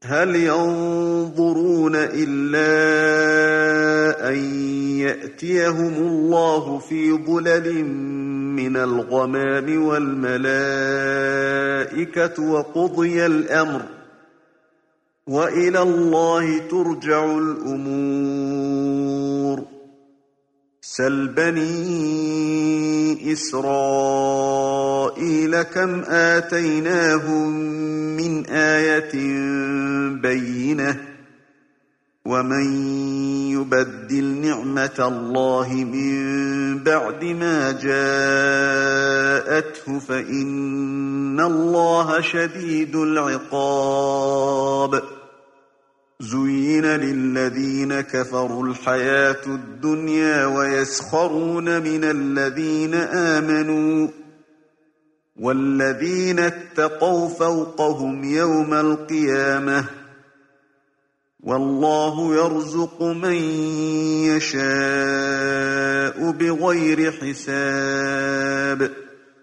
هل ينظرون إلا أن يأتيهم الله في ظلل من الغمام والملائكة وقضي الأمر وإلى الله ترجع الأمور سل بني إسرائيل كم آتيناهم من آية بينة ومن يبدل نعمة الله من بعد ما جاءته فإن الله شديد العقاب زين للذين كفروا الحياة الدنيا ويسخرون من الذين آمنوا والذين اتقوا فوقهم يوم القيامة والله يرزق من يشاء بغير حساب